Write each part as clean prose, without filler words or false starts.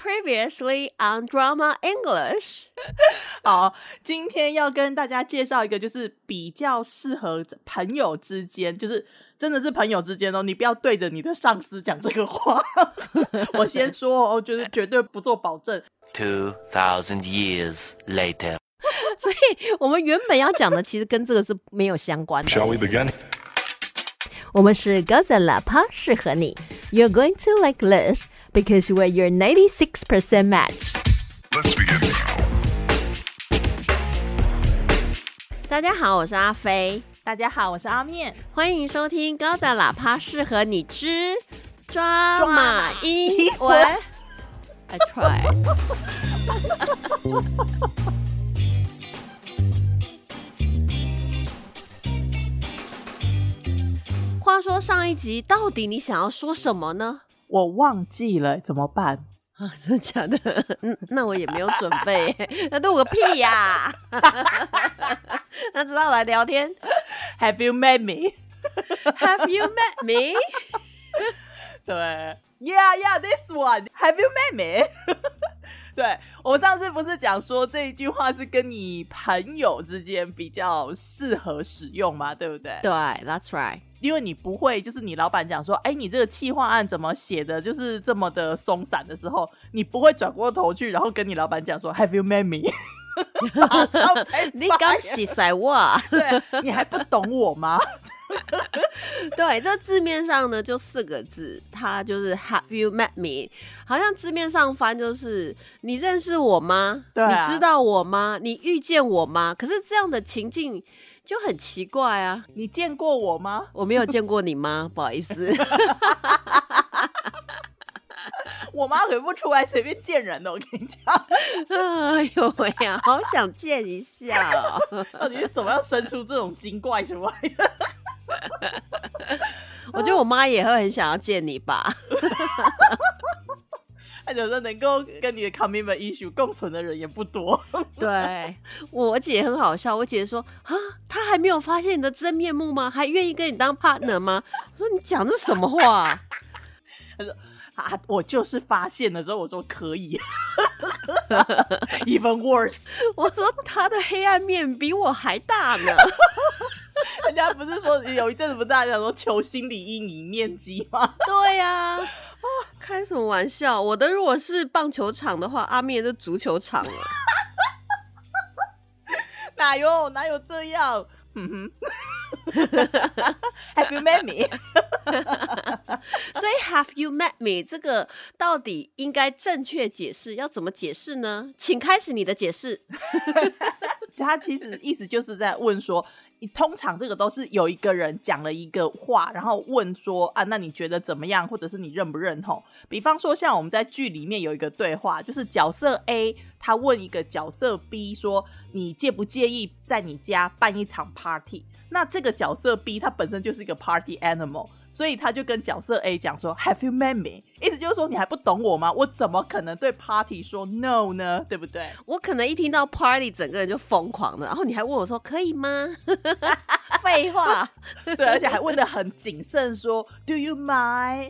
Previously on Drama English 好，今天要跟大家介绍一个就是比较适合朋友之间，就是真的是朋友之间哦，你不要对着你的上司讲这个话我先说哦，就是绝对不做保证。 2,000 years later 所以我们原本要讲的其实跟这个是没有相关的。 Shall we begin? 我们是高赞喇叭，适合你。 You're going to like this because we're your 96% match. Let's begin now. 大家好，我是阿飞， 大家好，我是阿面， 欢迎收听高赞喇叭，适合你之抓马英文。I tried 话说上一集到底你想要说什么呢？ 我忘记了怎么办啊，真的假的？那我也没有准备那录个屁呀那知道来聊天。 Have you met me? Have you met me? 对 Yeah, this one. Have you met me? 对，我们上次不是讲说这一句话是跟你朋友之间比较适合使用嘛，对不对？ 对 That's right。 因为你不会就是你老板讲说哎，你这个企划案怎么写的就是这么的松散的时候，你不会转过头去然后跟你老板讲说 Have you met me? 马上被你刚洗塞我对，你还不懂我吗？ 对，这字面上呢就4个字，它就是 Have you met me？ 好像字面上翻就是你认识我吗？ 对啊， 你知道我吗？你遇见我吗？可是这样的情境就很奇怪啊。 你见过我吗？ 我没有见过你吗？不好意思我妈可不出来随便见人的，我跟你讲。 哎呦喂呀，好想见一下哦到底是怎么样生出这种精怪出来的？ 我觉得我妈也会很想要见你吧他觉得能够跟你的 commitment issue 共存的人也不多。 对，我姐很好笑，我姐说啊，她还没有发现你的真面目吗？还愿意跟你当 partner 吗？我说你讲的什么话？ 她说啊，我就是发现了之后，我说可以，even worse。 我说她的黑暗面比我还大呢。 人家不是说有一阵子不是大家讲说求心理阴影面积吗？ 对呀、啊，开什么玩笑？我的如果是棒球场的话，阿面是足球场了。 哪有这样？Have you met me? 所以 Have you met me 这个到底应该正确解释要怎么解释呢？请开始你的解释。 他其实意思就是在问说，你通常这个都是有一个人讲了一个话，然后问说啊，那你觉得怎么样，或者是你认不认同？比方说像我们在剧里面有一个对话，就是角色 A 他问一个角色 B 说，你介不介意在你家办一场 party？ 那这个角色 B 他本身就是一个 party animal， 所以他就跟角色 A 讲说 Have you met me？ 意思就是说你还不懂我吗？我怎么可能对 party 说 no 呢？对不对？ 我可能一听到 party 整个人就疯狂了，然后你还问我说可以吗？废话。 对，而且还问得很谨慎说 Do you mind？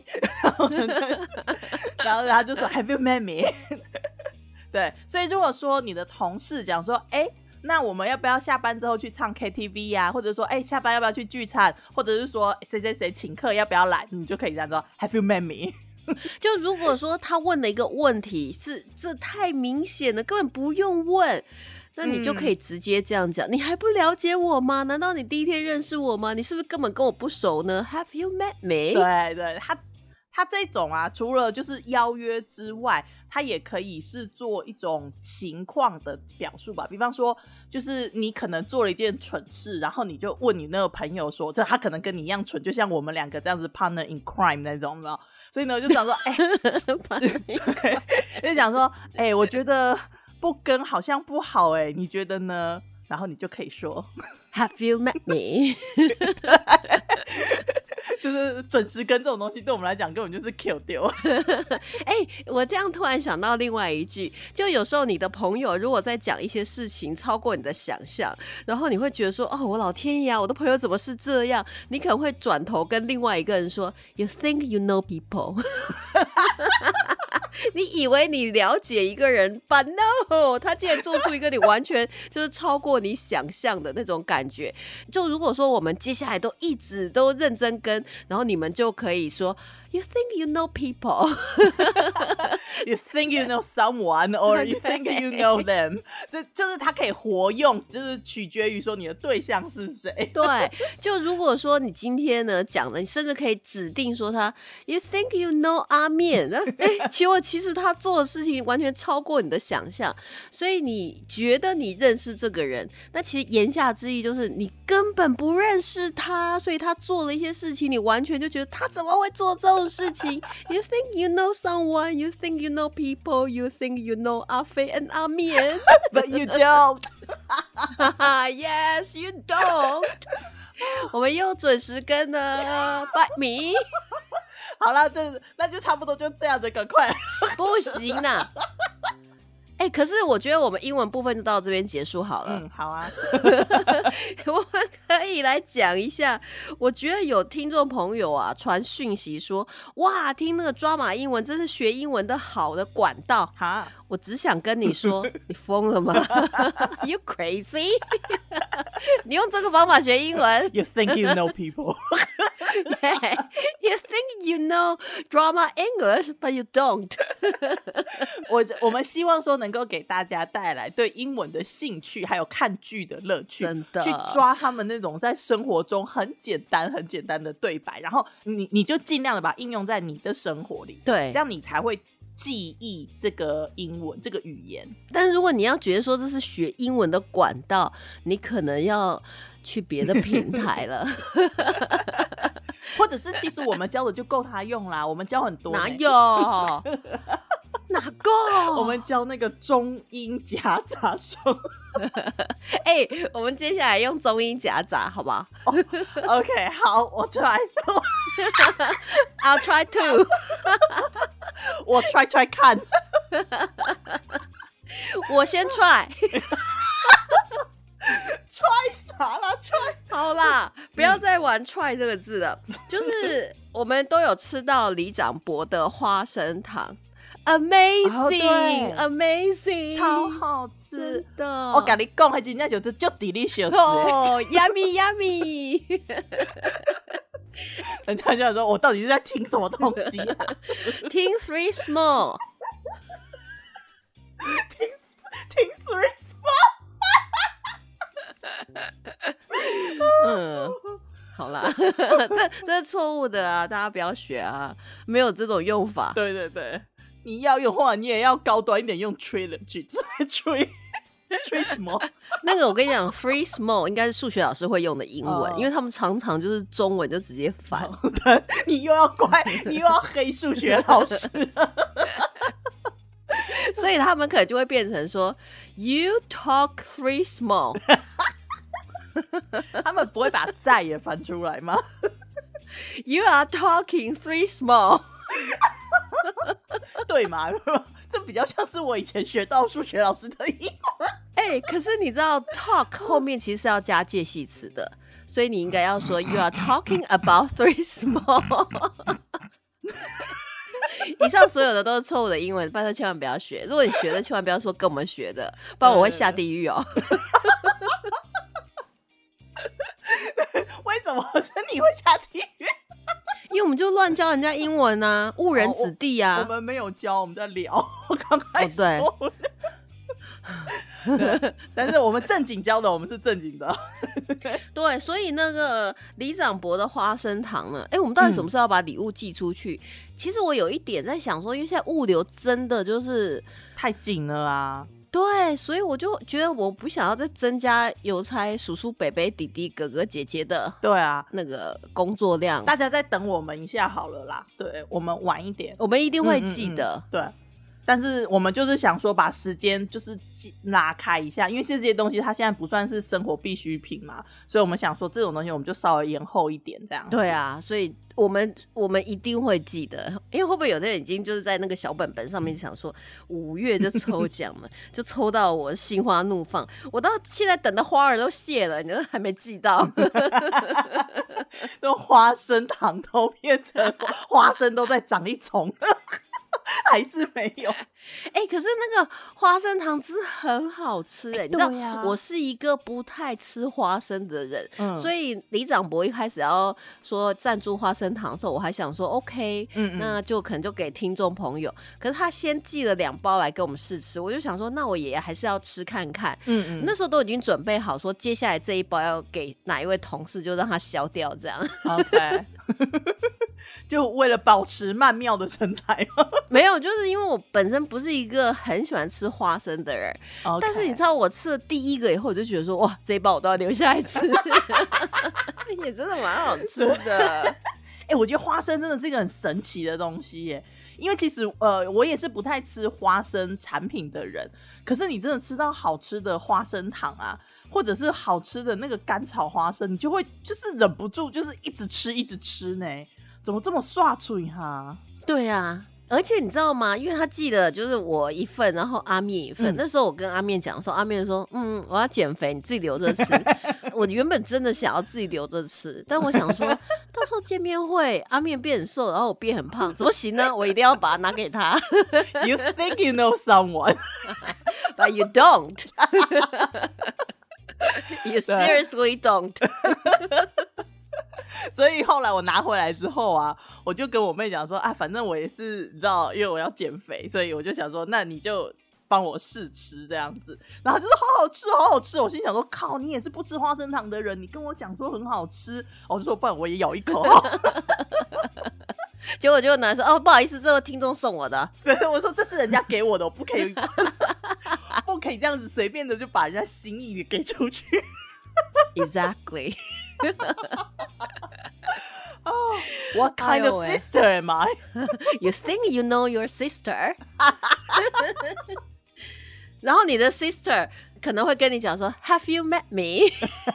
然后他就说 Have you met me？ 对，所以如果说你的同事讲说那我们要不要下班之后去唱 KTV 呀、或者说下班要不要去聚餐，或者是说谁谁谁请客要不要来，你就可以这样说 Have you met me？ 就如果说他问了一个问题是这太明显了，根本不用问，那你就可以直接这样讲，你还不了解我吗？难道你第一天认识我吗？你是不是根本跟我不熟呢？ Have you met me？ 对对，他这种啊，除了就是邀约之外，他也可以是做一种情况的表述吧。比方说就是你可能做了一件蠢事，然后你就问你那个朋友说，就他可能跟你一样蠢，就像我们2个这样子 partner in crime 那种，有没有？所以呢我就想说对，就想说我觉得不跟好像不好你觉得呢？然后你就可以说 Have you met me？ 就是准时跟这种东西对我们来讲根本就是 kill 丢。 我这样突然想到另外一句，就有时候你的朋友如果在讲一些事情超过你的想象，然后你会觉得说我老天爷啊，我的朋友怎么是这样，你可能会转头跟另外一个人说 You think you know people 你以为你了解一个人 ，but no， 他竟然做出一个你完全就是超过你想象的那种感觉。就如果说我们接下来都一直都认真跟，然后你们就可以说 ，You think you know people， You think you know someone, or you think you know them， 这就是它可以活用，就是取决于说你的对象是谁。 对，就如果说你今天呢讲的，你甚至可以指定说他 ，You think you know 阿面，其实他做的事情完全超过你的想象，所以你觉得你认识这个人，那其实言下之意就是你根本不认识他，所以他做了一些事情，你完全就觉得他怎么会做这种事情 ？You think you know someone, you think you know people, you think you know 阿飞 and 阿面 ，But you don't ，Yes, you don't 。我们又准时跟了，Bite me。 好了，那就差不多就这样子，赶快。 不行啦。可是我觉得我们英文部分就到这边结束好了。 好啊。 我们可以来讲一下，我觉得有听众朋友啊传讯息说，哇，听那个抓马英文真是学英文的好的管道。 哈， 我只想跟你说，你疯了吗？You crazy？ 你用这个方法学英文 ？You think you know people？ Yeah, you think you know drama English, but you don't 。 我们希望说能够给大家带来对英文的兴趣，还有看剧的乐趣， 真的去抓他们那种在生活中很简单的对白，然后你就尽量的把它应用在你的生活里， 对， 这样你才会记忆这个英文这个语言。 但是如果你要觉得说这是学英文的管道，你可能要去别的平台了。 或者是其实我们教的就够他用啦，我们教很多。 哪有？哪够？ 我们教那个中英夹杂声。 我们接下来用中英夹杂好不好 ？OK， 好，我 try。 I'll try too 。 我 try 看。 我先 try。 try 啥啦 ？try 好啦，不要再玩 try 这个字了。就是我们都有吃到里长伯的花生糖。Amazing， amazing， 超好吃的。 我跟你讲，还真正就是就 delicious 哦，yummy yummy。 人家就想说，我到底是在听什么东西啊？ 听 Three Small， 听 Three Small。好啦，这是错误的啊，大家不要学啊，没有这种用法。 对对对。你要用的话，你也要高端一点，用 trilogy tree small。 那个我跟你讲 ，free small 应该是数学老师会用的英文，因为他们常常就是中文就直接翻。 你又要怪，你又要黑数学老师， 所以他们可能就会变成说 ，You talk three small。 他们不会把在也翻出来吗 ？You are talking three small。 对嘛？这比较像是我以前学到数学老师的英文。 可是你知道 talk 后面其实是要加介系词的，所以你应该要说 You are talking about three small。以上所有的都是错误的英文，拜托千万不要学。如果你学的，千万不要说跟我们学的，不然我会下地狱哦。 为什么是你会下地狱？ 因为我们就乱教人家英文啊，误人子弟啊。 我们没有教，我们在聊。我刚才说对，但是我们正经教的，我们是正经的。 对，所以那个里长伯的花生糖呢？我们到底什么时候要把礼物寄出去？其实我有一点在想说，因为现在物流真的就是太紧了啊。 对，所以我就觉得我不想要再增加邮差叔叔、伯伯、弟弟、哥哥、姐姐的对啊那个工作量。 大家再等我们一下好了啦。对，我们晚一点， 我们一定会记得。 对，但是我们就是想说把时间就是拉开一下，因为这些东西它现在不算是生活必需品嘛，所以我们想说这种东西我们就稍微延后一点这样子。 对啊，所以我们一定会记得，因为会不会有的人已经就是在那个小本本上面想说5月就抽奖了，就抽到我心花怒放，我到现在等的花儿都谢了，你都还没寄到。 那花生糖都变成花生都在长一丛。 还是没有。 可是那个花生糖真的很好吃你知道对啊我是一个不太吃花生的人，所以李长博一开始要说赞助花生糖的时候，我还想说 OK，那就可能就给听众朋友。可是他先寄了2包来给我们试吃，我就想说，那我也还是要吃看看。那时候都已经准备好说，接下来这一包要给哪一位同事，就让他消掉这样。 OK， 就为了保持曼妙的身材吗？ 没有，就是因为我本身不是一个很喜欢吃花生的人， Okay. 但是你知道我吃了第一个以后，我就觉得说哇，这一包我都要留下来吃，也真的蛮好吃的。 我觉得花生真的是一个很神奇的东西耶。因为其实我也是不太吃花生产品的人，可是你真的吃到好吃的花生糖啊，或者是好吃的那个干炒花生，你就会就是忍不住就是一直吃呢。怎么这么刷嘴哈？ 对啊，而且你知道吗？因为他寄的就是我一份，然后阿面一份。那时候我跟阿面讲说，阿面说我要减肥，你自己留着吃。我原本真的想要自己留着吃，但我想说到时候见面会阿面变很瘦，然后我变很胖，怎么行呢？我一定要把它拿给他。 You think you know someone, but you don't. You seriously don't. 所以后来我拿回来之后啊，我就跟我妹讲说啊，反正我也是你知道，因为我要减肥，所以我就想说，那你就帮我试吃这样子。然后就说好好吃，好好吃。我心想说，靠，你也是不吃花生糖的人，你跟我讲说很好吃，我就说不然我也咬一口。 结果就拿来说哦，不好意思，这个听众送我的。 对，我说这是人家给我的，我不可以，不可以这样子随便的就把人家心意给出去。 Exactly. Oh, what kind of sister am I? You think you know your sister? 然后你的 sister 可能会跟你讲说 Have you met me?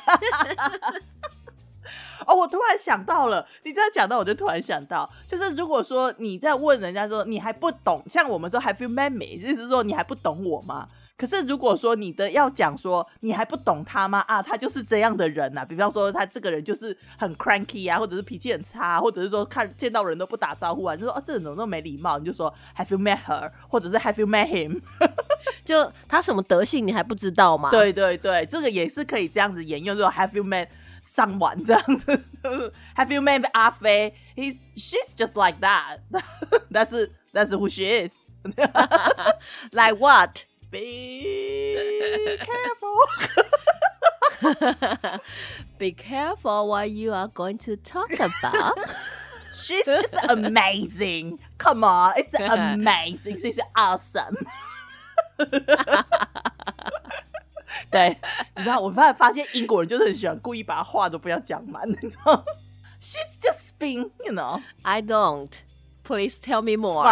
我突然想到了，你这样讲到我就突然想到，就是如果说你在问人家说你还不懂，像我们说 Have you met me? 意思是说你还不懂我吗？可是如果说你的要讲说你还不懂他吗？啊，他就是这样的人啊，比方说他这个人就是很 cranky 啊，或者是脾气很差，或者是说见到人都不打招呼啊，你就说这人怎么那么没礼貌？你就说 Have you met her? 或者是 Have you met him? 就他什么德性你还不知道吗？ 对对对，这个也是可以这样子沿用，就 Have you met someone 这样子。Have you met 阿飞 She's just like that. That's who she is. Like what? Be careful. Be careful what you are going to talk about. She's just amazing. Come on, it's amazing. She's awesome. 对，你知道我发现英国人就是很喜欢故意把话都不要讲满，你知道 She's just being, you know. I don't. Please tell me more.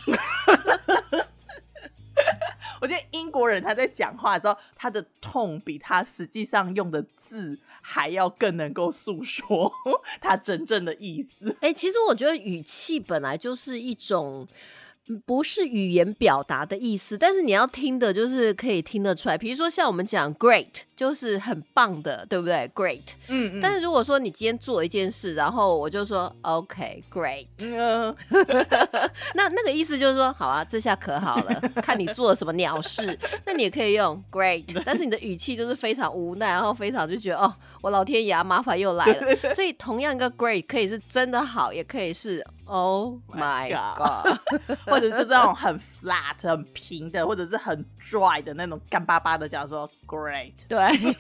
我觉得英国人他在讲话的时候，他的痛比他实际上用的字还要更能够诉说他真正的意思。 其实我觉得语气本来就是一种不是语言表达的意思，但是你要听的就是可以听得出来。比如说像我们讲 great 就是很棒的，对不对？ Great。但是如果说你今天做一件事，然后我就说 OK great，那个意思就是说好啊，这下可好了，看你做了什么鸟事。那你也可以用 great， 但是你的语气就是非常无奈，然后非常就觉得哦，我老天爷，麻烦又来了。所以同样一个 great 可以是真的好，也可以是 Oh my god， 或者就是那种很 flat 很平的，或者是很 dry 的那种干巴巴的讲说 great。 对。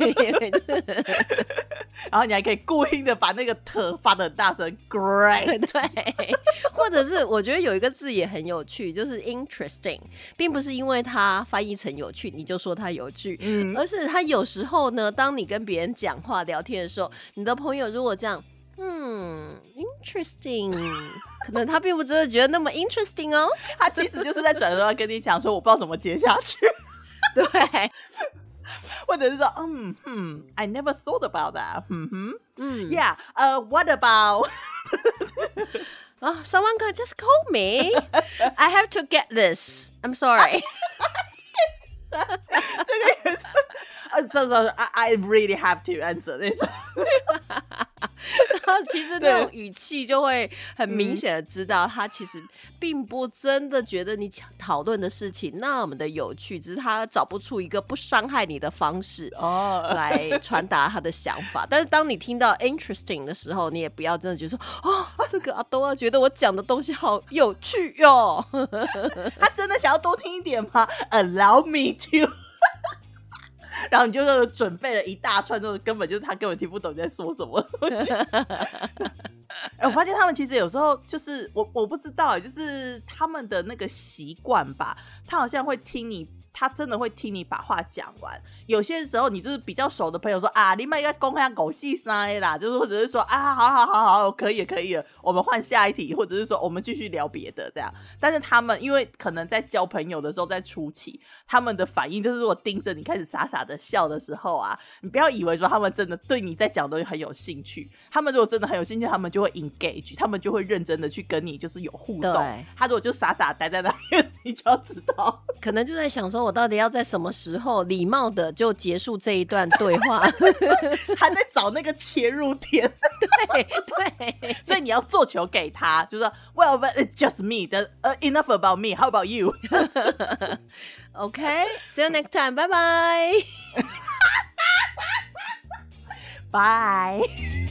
然后你还可以故意的把那个特发得很大声 great。 对，或者是我觉得有一个字也很有趣，就是 interesting， 并不是因为它翻译成有趣你就说它有趣，而是它有时候呢，当你跟别人讲话聊天的时候，你的朋友如果这样interesting， 可能他并不真的觉得那么 interesting 哦， 他其实就是在转头要跟你讲说我不知道怎么接下去。 对， 或者是说I never thought about that. Yeah, what about someone could just call me. I have to get this. I'm sorry. 这个也是so I really have to answer this. 然后其实那种语气就会很明显的知道，他其实并不真的觉得你讨论的事情那么的有趣，只是他找不出一个不伤害你的方式来传达他的想法。但是当你听到 interesting 的时候，你也不要真的觉得说这个阿多啊觉得我讲的东西好有趣哟。 他真的想要多听一点吗 ？Allow me to 。然后你就准备了一大串，就是根本就是他根本听不懂你在说什么。我发现他们其实有时候就是我不知道，就是他们的那个习惯吧，他好像会听你。他真的会听你把话讲完，有些时候你就是比较熟的朋友说啊，你们应该公开狗戏啥啦，就是或者是说啊，好，可以了，我们换下一题，或者是说我们继续聊别的这样。但是他们因为可能在交朋友的时候，在初期，他们的反应就是如果盯着你开始傻傻的笑的时候啊，你不要以为说他们真的对你在讲的东西很有兴趣，他们如果真的很有兴趣，他们就会 engage， 他们就会认真的去跟你就是有互动。他如果就傻傻待在那边，你就要知道， 可能就在想说我到底要在什么时候礼貌的就结束这一段对话。 他在找那个切入点。 对， 所以你要做球给他，就说 Well, but it's just me. Enough about me. How about you? Okay, see you next time. Bye bye. Bye.